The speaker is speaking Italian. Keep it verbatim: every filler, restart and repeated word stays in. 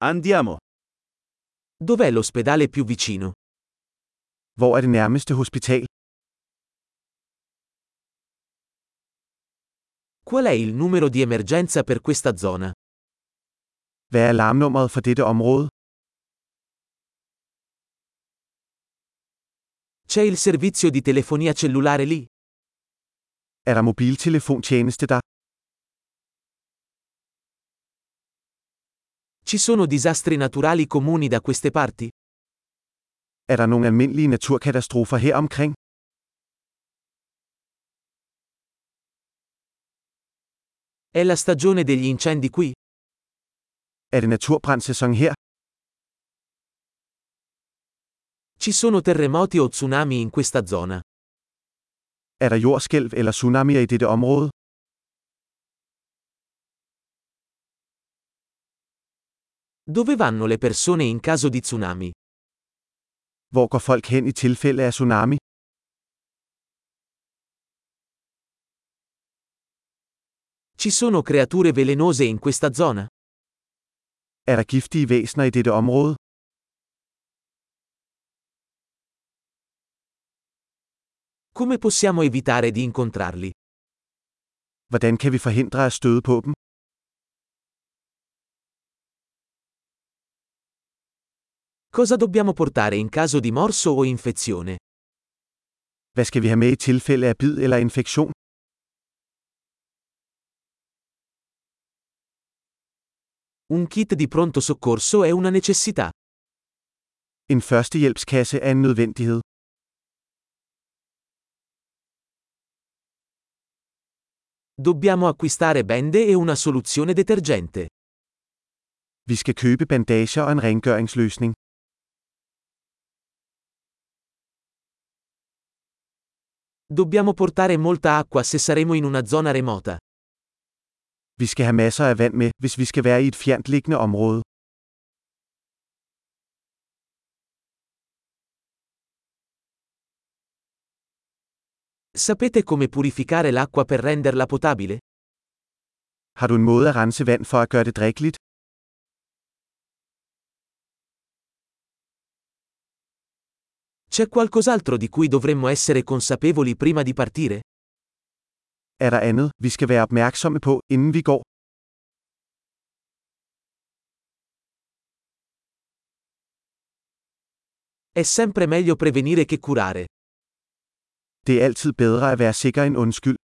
Andiamo. Dov'è l'ospedale più vicino? Hvor er det nærmeste hospital? Qual è il numero di emergenza per questa zona? Hvad er alarmnummeret for dette område? C'è il servizio di telefonia cellulare lì? Er der mobiltelefontjeneste der? Ci sono disastri naturali comuni da queste parti? Er der nogle almindelige naturkatastrofer her omkring? È la stagione degli incendi qui? Er det naturbrandssæson her? Ci sono terremoti o tsunami in questa zona? Er der jordskælv eller tsunamier i dette område? Dove vanno le persone in caso di tsunami? Hvor går folk hen i tilfælde af tsunami? Ci sono creature velenose in questa zona? Er der giftige væsener i dette område? Come possiamo evitare di incontrarli? Hvordan kan vi forhindre at støde på dem? Cosa dobbiamo portare in caso di morso o infezione? Hvad skal vi have med i tilfælde af bid eller infektion? Un kit di pronto soccorso è una necessità. En førstehjælpskasse er en nødvendighed. Dobbiamo acquistare bende e una soluzione detergente. Vi skal købe bandager og en rengøringsløsning. Dobbiamo portare molta acqua se saremo in una zona remota. Vi skal have masser af vand med, hvis vi skal være i et fjernt liggende område. Sapete come purificare l'acqua per renderla potabile? Har du en måde at rense vand for at gøre det drikkeligt? C'è qualcos'altro di cui dovremmo essere consapevoli prima di partire? Er der andet, vi skal være opmærksomme på, inden vi går? È sempre meglio prevenire che curare. Det er altid bedre at være sikker end undskyld.